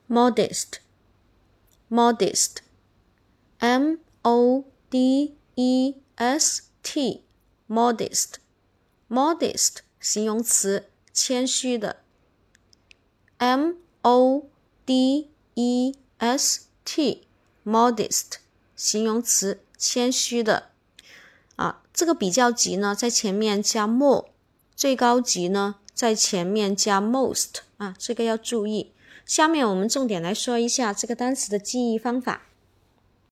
modest modest M-O-D-E-S-T modest modest 形容词，谦虚的。M-O-D-E-S-T modest 形容词，谦虚的。这个比较级呢在前面加 more， 最高级呢在前面加 most，这个要注意。下面我们重点来说一下这个单词的记忆方法。